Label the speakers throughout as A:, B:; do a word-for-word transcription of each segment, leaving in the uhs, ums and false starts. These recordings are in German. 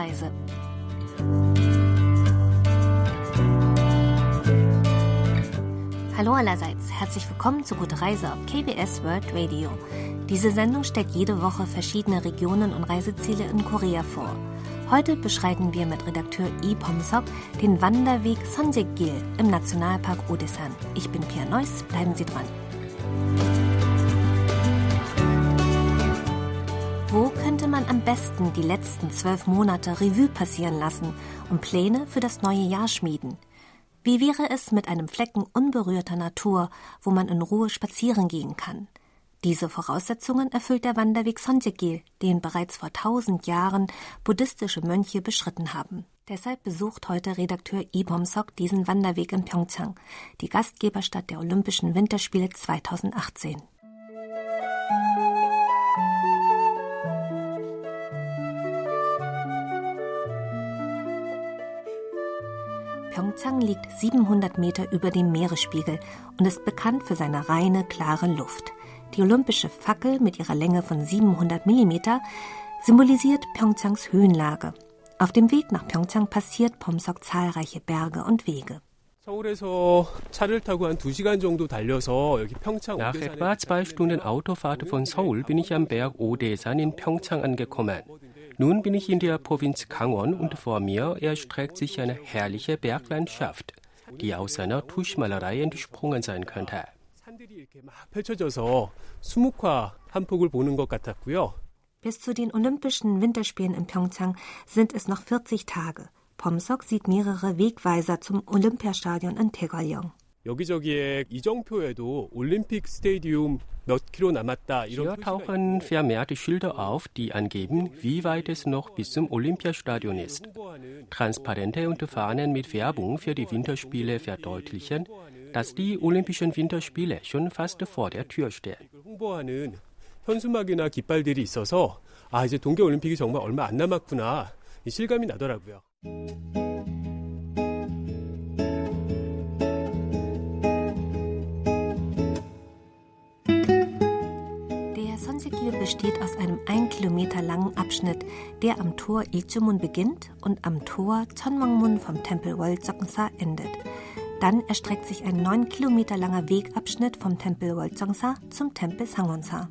A: Reise. Hallo allerseits, herzlich willkommen zu Gute Reise auf K B S World Radio. Diese Sendung stellt jede Woche verschiedene Regionen und Reiseziele in Korea vor. Heute beschreiten wir mit Redakteur Lee Pom-seok den Wanderweg Sonjek-gil im Nationalpark Odaesan. Ich bin Pia Neuss, bleiben Sie dran. Wo könnte man am besten die letzten zwölf Monate Revue passieren lassen und Pläne für das neue Jahr schmieden? Wie wäre es mit einem Flecken unberührter Natur, wo man in Ruhe spazieren gehen kann? Diese Voraussetzungen erfüllt der Wanderweg Sonjek-gil, den bereits vor tausend Jahren buddhistische Mönche beschritten haben. Deshalb besucht heute Redakteur Lee Pom-seok diesen Wanderweg in Pyeongchang, die Gastgeberstadt der Olympischen Winterspiele zweitausendachtzehn. Pyeongchang liegt siebenhundert Meter über dem Meeresspiegel und ist bekannt für seine reine, klare Luft. Die olympische Fackel mit ihrer Länge von siebenhundert Millimeter symbolisiert Pyeongchangs Höhenlage. Auf dem Weg nach Pyeongchang passiert Pom-seok zahlreiche Berge und Wege.
B: Nach etwa zwei Stunden Autofahrt von Seoul bin ich am Berg Odaesan in Pyeongchang angekommen. Nun bin ich in der Provinz Gangwon und vor mir erstreckt sich eine herrliche Berglandschaft, die aus einer Tuschmalerei entsprungen sein könnte.
A: Bis zu den Olympischen Winterspielen in Pyeongchang sind es noch vierzig Tage. Pom-seok sieht mehrere Wegweiser zum Olympiastadion in Taegwallyeong.
B: Hier tauchen vermehrte Schilder auf, die angeben, wie weit es noch bis zum Olympiastadion ist. Transparente und Fahnen mit Werbung für die Winterspiele verdeutlichen, dass die Olympischen Winterspiele schon fast vor der Tür stehen.
C: 현수막이나 깃발들이 있어서 아 이제 동계올림픽이 정말 얼마 안 남았구나 이 실감이 나더라고요.
A: Der Sonjek-gil besteht aus einem ein Kilometer langen Abschnitt, der am Tor Iljumun beginnt und am Tor Cheonmongmun vom Tempel Woljeongsa endet. Dann erstreckt sich ein neun Kilometer langer Wegabschnitt vom Tempel Woljeongsa zum Tempel Sangwonsa.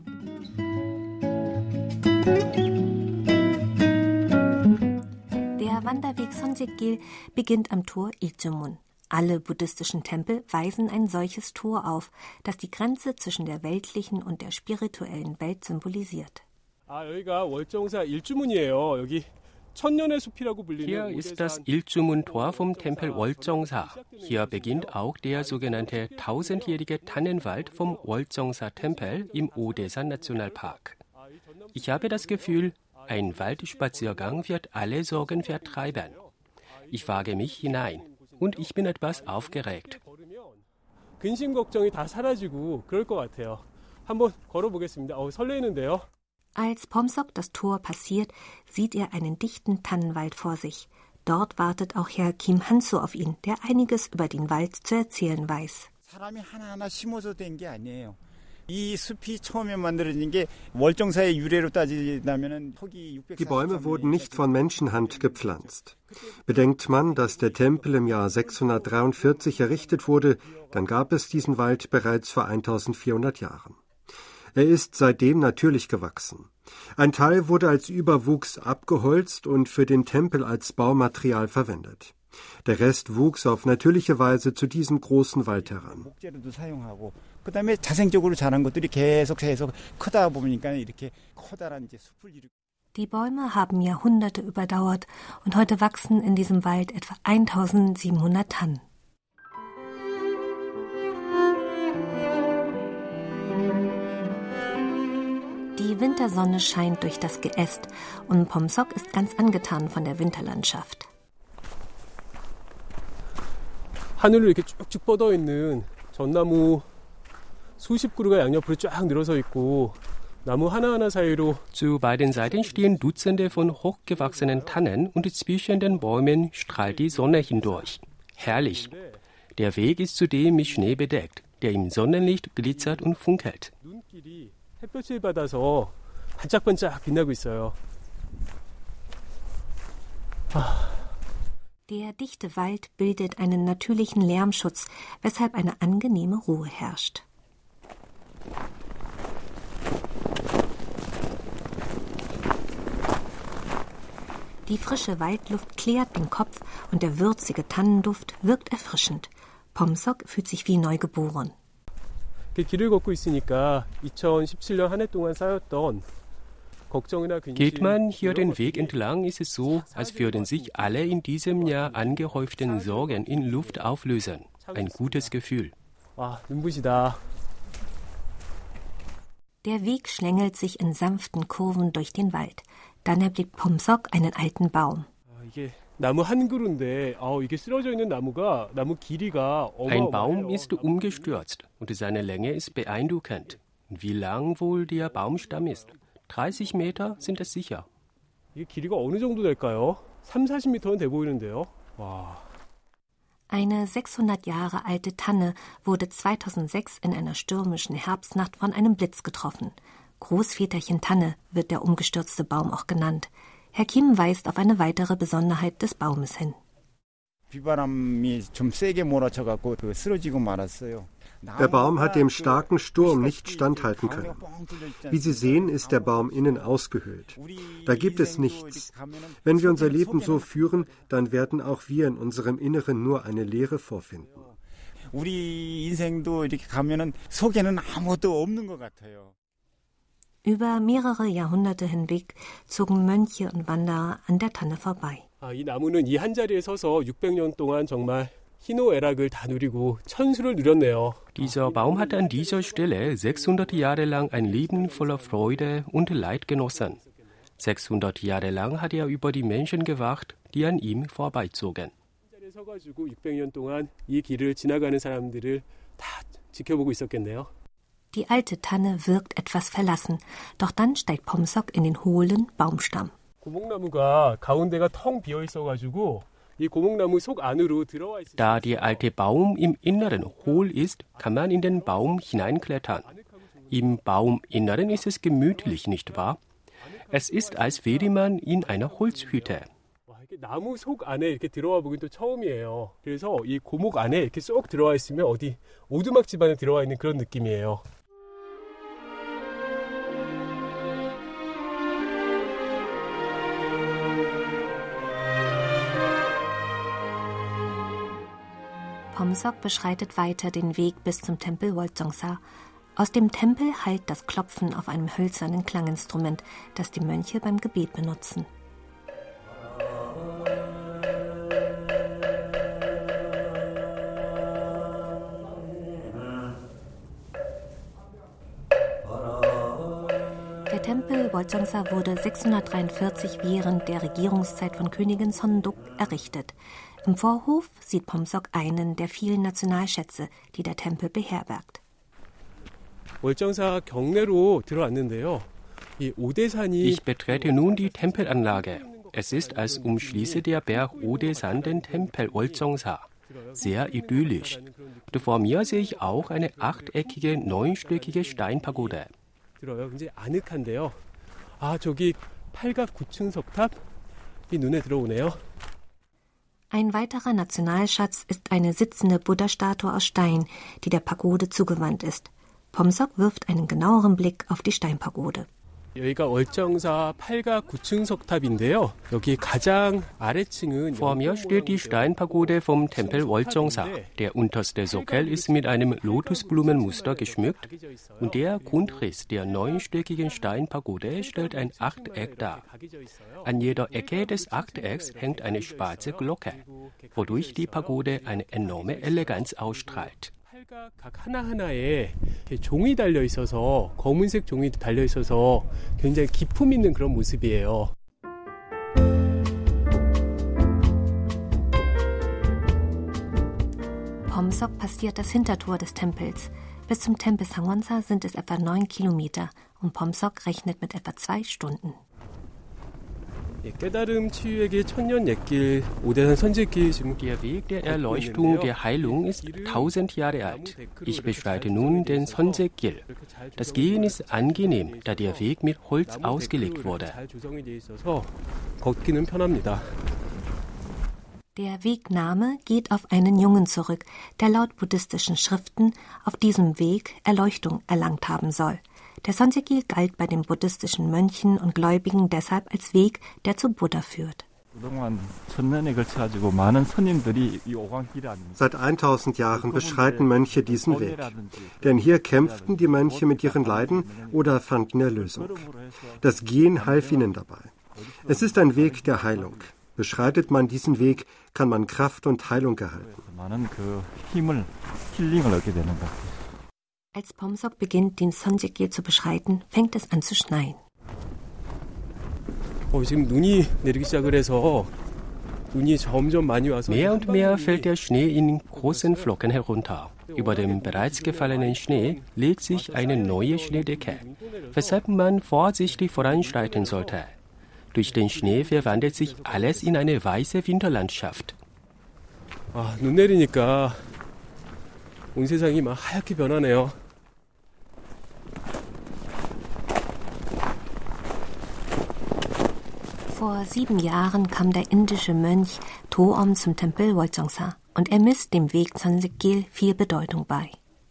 A: Der Wanderweg Sonjek-gil beginnt am Tor Iljumun. Alle buddhistischen Tempel weisen ein solches Tor auf, das die Grenze zwischen der weltlichen und der spirituellen Welt symbolisiert.
B: Hier ist das Iljumun-Tor vom Tempel Woljeongsa. Hier beginnt auch der sogenannte tausendjährige Tannenwald vom Woljeongsa-Tempel im Odaesan-Nationalpark. Ich habe das Gefühl, ein Waldspaziergang wird alle Sorgen vertreiben. Ich wage mich hinein und ich bin etwas aufgeregt.
C: 근심 걱정이 다 사라지고 그럴 것 같아요. 한번 걸어보겠습니다. 어, 설레는데요.
A: Als Pom-seok das Tor passiert, sieht er einen dichten Tannenwald vor sich. Dort wartet auch Herr Kim Han-soo auf ihn, der einiges über den Wald zu erzählen weiß.
D: 사람이 하나하나 심어서 된 게 아니에요.
E: Die Bäume wurden nicht von Menschenhand gepflanzt. Bedenkt man, dass der Tempel im Jahr sechshundertdreiundvierzig errichtet wurde, dann gab es diesen Wald bereits vor eintausendvierhundert Jahren. Er ist seitdem natürlich gewachsen. Ein Teil wurde als Überwuchs abgeholzt und für den Tempel als Baumaterial verwendet. Der Rest wuchs auf natürliche Weise zu diesem großen Wald heran.
A: Die Bäume haben Jahrhunderte überdauert und heute wachsen in diesem Wald etwa eintausendsiebenhundert Tannen. Die Wintersonne scheint durch das Geäst und Pom-seok ist ganz angetan von der Winterlandschaft.
C: 하늘로 이렇게 쭉쭉 뻗어 있는 전나무 수십 그루가 양옆으로 쫙 늘어서 있고 나무 하나하나 사이로
B: Zu beiden Seiten stehen Dutzende von hochgewachsenen Tannen und zwischen den Bäumen strahlt die Sonne hindurch. Herrlich. Der Weg ist zudem mit Schnee bedeckt, der im Sonnenlicht glitzert und funkelt.
C: 눈길이 햇볕을 받아서 반짝반짝 빛나고 있어요.
A: Der dichte Wald bildet einen natürlichen Lärmschutz, weshalb eine angenehme Ruhe herrscht. Die frische Waldluft klärt den Kopf und der würzige Tannenduft wirkt erfrischend. Pomsok fühlt sich wie neugeboren.
C: 길을 걷고 있으니까 이천십칠 년 한 해 동안 쌓였던
B: Geht man hier den Weg entlang, ist es so, als würden sich alle in diesem Jahr angehäuften Sorgen in Luft auflösen. Ein gutes Gefühl.
C: 와, 눈부시다.
A: Der Weg schlängelt sich in sanften Kurven durch den Wald. Dann erblickt Pomsok einen alten Baum.
C: 나무 한 그루인데, 이게 쓰러져 있는 나무가 나무 길이가
B: Ein Baum ist umgestürzt und seine Länge ist beeindruckend. Wie lang wohl der Baumstamm ist? dreißig Meter sind es sicher.
C: 이게 길이가 어느 정도 될까요? 삼사십 미터는 돼 보이는데요. 와.
A: Eine sechshundert Jahre alte Tanne wurde zweitausendsechs in einer stürmischen Herbstnacht von einem Blitz getroffen. Großväterchen Tanne wird der umgestürzte Baum auch genannt. Herr Kim weist auf eine weitere Besonderheit des Baumes hin.
D: 비바람이 좀 세게 몰아쳐갖고 쓰러지고 말았어요.
E: Der Baum hat dem starken Sturm nicht standhalten können. Wie Sie sehen, ist der Baum innen ausgehöhlt. Da gibt es nichts. Wenn wir unser Leben so führen, dann werden auch wir in unserem Inneren nur eine Leere vorfinden.
D: 우리 인생도 이렇게 가면은 속에는 아무것도 없는 것 같아요.
A: Über mehrere Jahrhunderte hinweg zogen Mönche und Wanderer an der Tanne vorbei.
C: 아, 이 나무는 이 한 자리에 서서 육백 년 동안 정말 희노애락을 다 누리고 천수를 누렸네요.
B: Dieser Baum hat an dieser Stelle sechshundert Jahre lang ein Leben voller Freude und Leid genossen. sechshundert Jahre lang hat er über die Menschen gewacht, die an ihm vorbeizogen.
C: 이 자리에 서가지고 육백 년 동안 이 길을 지나가는 사람들을 다 지켜보고 있었겠네요.
A: Die alte Tanne wirkt etwas verlassen, doch dann steigt Pomsok in den hohlen Baumstamm.
C: 고목나무가 가운데가 텅 비어 있어가지고 이 고목나무 속 안으로 들어와 있어요.
B: Da der alte Baum im Inneren hohl ist, kann man in den Baum hineinklettern. Im Bauminneren ist es gemütlich, nicht wahr? Es ist, als wäre man in einer Holzhütte.
C: 나무 속 안에 이렇게 들어와 보긴 또 처음이에요. 그래서 이 고목 안에 이렇게 쏙 들어와 있으면 어디 오두막 집안에 들어와 있는 그런 느낌이에요.
A: Pomsok beschreitet weiter den Weg bis zum Tempel Woljeongsa. Aus dem Tempel hallt das Klopfen auf einem hölzernen Klanginstrument, das die Mönche beim Gebet benutzen. Der Tempel Woljeongsa wurde sechshundertdreiundvierzig während der Regierungszeit von Königin Sondeok errichtet. Im Vorhof sieht Pomsok einen der vielen Nationalschätze, die der Tempel beherbergt.
C: 월정사 경내로 들어왔는데요. 이 오대산이
B: Ich betrete nun die Tempelanlage. Es ist, als umschließe der Berg Odesan den Tempel Woljeongsa. Sehr idyllisch. Und vor mir sehe ich auch eine achteckige, neunstöckige Steinpagode.
C: 들어요. 굉장히 아늑한데요. 아, 저기 팔각 구층 석탑이 눈에 들어오네요.
A: Ein weiterer Nationalschatz ist eine sitzende Buddha-Statue aus Stein, die der Pagode zugewandt ist. Pomsok wirft einen genaueren Blick auf die Steinpagode.
C: 여기가 월정사 팔각 구층 석탑인데요. 여기 가장 아래층은
B: Vor mir steht die Steinpagode vom Tempel Woljeongsa. Der unterste Sockel ist mit einem Lotusblumenmuster geschmückt und der Grundriss der neunstöckigen Steinpagode stellt ein Achteck dar. An jeder Ecke des Achtecks hängt eine schwarze Glocke, wodurch die Pagode eine enorme Eleganz ausstrahlt.
C: 각 하나하나에 종이 달려 있어서 검은색 종이 달려 있어서 굉장히 기품 있는 그런 모습이에요.
A: Pomsok passiert das Hintertor des Tempels. Bis zum Tempel Sangwonsa sind es etwa neun Kilometer und Pomsok rechnet mit etwa zwei Stunden.
C: 깨달음 치유에게 천년 옛길 오대산 선제길 지금
B: Der Weg der Erleuchtung, der Heilung ist tausend Jahre alt. Ich beschreite nun den Sonjekgil. Das Gehen ist angenehm, da der Weg mit Holz ausgelegt wurde.
C: 걷기는 편합니다.
A: Der Wegname geht auf einen Jungen zurück, der laut buddhistischen Schriften auf diesem Weg Erleuchtung erlangt haben soll. Der Sonje-gil galt bei den buddhistischen Mönchen und Gläubigen deshalb als Weg, der zu Buddha führt.
E: Seit tausend Jahren beschreiten Mönche diesen Weg. Denn hier kämpften die Mönche mit ihren Leiden oder fanden Erlösung. Das Gehen half ihnen dabei. Es ist ein Weg der Heilung. Beschreitet man diesen Weg, kann man Kraft und Heilung erhalten.
A: Als Pomsok beginnt, den Sonje-gil zu beschreiten, fängt es an zu schneien.
B: Mehr und mehr fällt der Schnee in großen Flocken herunter. Über dem bereits gefallenen Schnee legt sich eine neue Schneedecke, weshalb man vorsichtig voranschreiten sollte. Durch den Schnee verwandelt sich alles in eine weiße Winterlandschaft.
C: 아, 눈 내리니까 온 세상이 막 하얗게 변하네요.
A: Vor sieben Jahren kam der indische Mönch Toom zum Tempel Woljeongsa und er misst dem Weg Sonje-gil viel Bedeutung bei.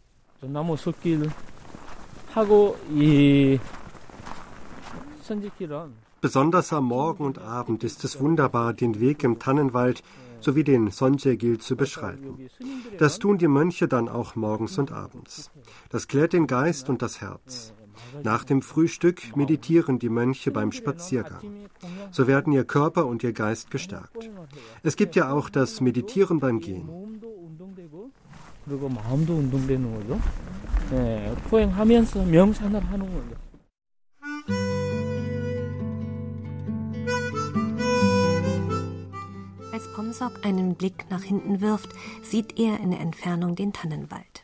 E: Besonders am Morgen und Abend ist es wunderbar, den Weg im Tannenwald sowie den Sonje-gil zu beschreiten. Das tun die Mönche dann auch morgens und abends. Das klärt den Geist und das Herz. Nach dem Frühstück meditieren die Mönche beim Spaziergang. So werden ihr Körper und ihr Geist gestärkt. Es gibt ja auch das Meditieren beim Gehen.
A: Als Pomsok einen Blick nach hinten wirft, sieht er in der Entfernung den Tannenwald.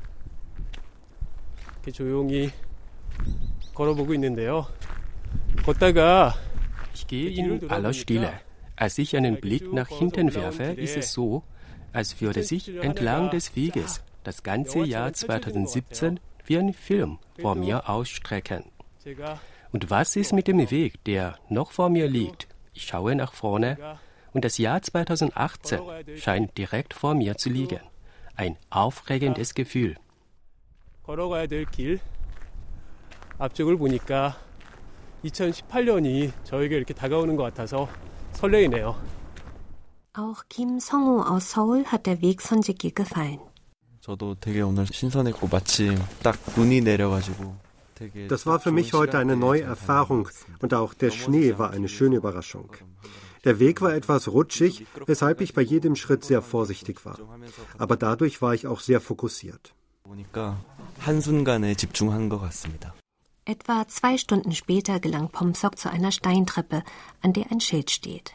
C: 조용히 걸어보고 있는데요. 걷다가
B: Ich gehe in aller Stille. Als ich einen Blick nach hinten werfe, ist es so, als würde sich entlang des Weges das ganze Jahr zweitausendsiebzehn wie ein Film vor mir ausstrecken. Und was ist mit dem Weg, der noch vor mir liegt? Ich schaue nach vorne und das Jahr zweitausendachtzehn scheint direkt vor mir zu liegen. Ein aufregendes Gefühl.
C: 걸어가야 될 길 앞쪽을 보니까 이천십팔 년이 저에게 이렇게 다가오는 것 같아서 설레이네요.
A: Auch Kim Song-ho aus Seoul hat der Weg Sonje-gil gefallen.
F: 저도 되게 오늘 신선했고 마침 딱 눈이 내려가지고
E: Das war für mich heute eine neue Erfahrung und auch der Schnee war eine schöne Überraschung. Der Weg war etwas rutschig, weshalb ich bei jedem Schritt sehr vorsichtig war. Aber dadurch war ich auch sehr fokussiert.
F: 보니까 한순간에 집중한 것 같습니다.
A: Etwa zwei Stunden später gelangt Pomsok zu einer Steintreppe, an der ein Schild steht.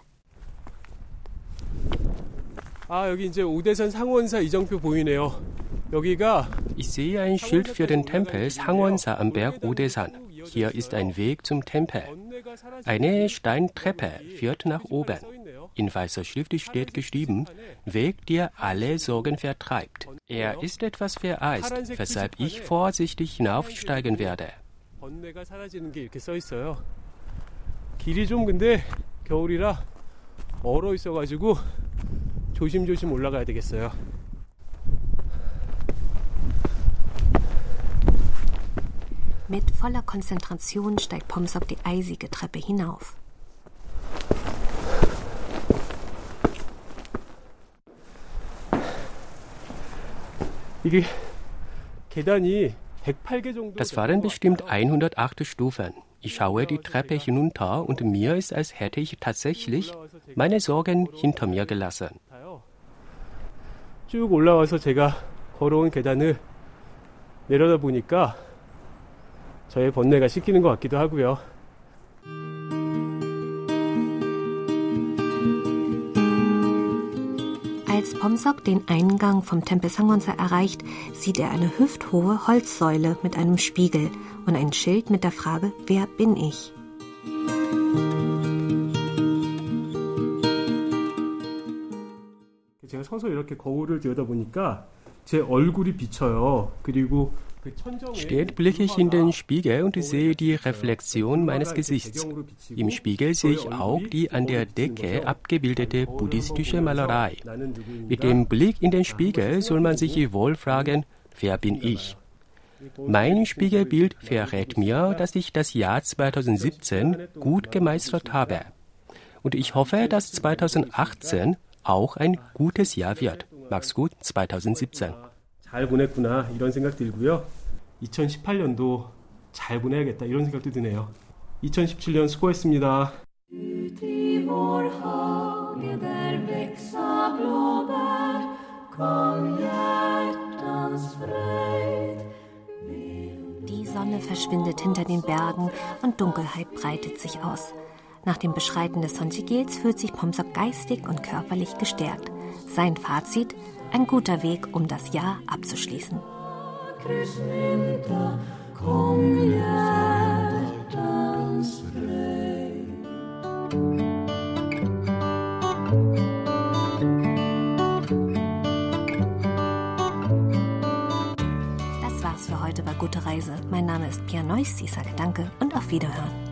C: 아, 여기 이제 오대산 상원사 이정표 보이네요. 여기가
B: Ich sehe ein Schild für den Tempel Sangwonsa am Berg Odesan. Hier ist ein Weg zum Tempel. Eine Steintreppe führt nach oben. In weißer Schrift steht geschrieben, Weg, der alle Sorgen vertreibt. Er ist etwas vereist, weshalb ich vorsichtig hinaufsteigen werde.
C: 번뇌가 사라지는 게 이렇게 써 있어요. 길이 좀 근데 겨울이라 얼어 있어가지고 조심조심 올라가야 되겠어요.
A: Mit voller Konzentration steigt Pomsok die eisige Treppe hinauf.
C: 이게 계단이
B: Das waren bestimmt hundertacht Stufen. Ich schaue die Treppe hinunter und mir ist, als hätte ich tatsächlich meine Sorgen hinter mir gelassen.
C: 쭉 올라와서 제가 걸어온 계단을 내려다 보니까 저의 번뇌가 씻기는 것 같기도 하고요.
A: Als Pomsok den Eingang vom Tempel Sangwonsa erreicht, sieht er eine hüfthohe Holzsäule mit einem Spiegel und ein Schild mit der Frage, wer bin ich?
C: 제가 서서 이렇게 거울을 들여다보니까 제 얼굴이 비쳐요. 그리고
B: Stets blicke ich in den Spiegel und sehe die Reflexion meines Gesichts. Im Spiegel sehe ich auch die an der Decke abgebildete buddhistische Malerei. Mit dem Blick in den Spiegel soll man sich wohl fragen, wer bin ich? Mein Spiegelbild verrät mir, dass ich das Jahr zweitausendsiebzehn gut gemeistert habe. Und ich hoffe, dass zweitausendachtzehn auch ein gutes Jahr wird. Mach's gut, zweitausendsiebzehn.
C: 잘 보냈구나 이런 생각 들고요. 이천십팔 년도 잘 보내야겠다 이런 생각도 드네요. 이천십칠 년 수고했습니다.
A: Die Sonne verschwindet hinter den Bergen und Dunkelheit breitet sich aus. Nach dem Beschreiten des Sonchigils fühlt sich Pomsok geistig und körperlich gestärkt. Sein Fazit: ein guter Weg, um das Jahr abzuschließen. Das war's für heute bei Gute Reise. Mein Name ist Pia Neuss. Ich sage Danke und auf Wiederhören.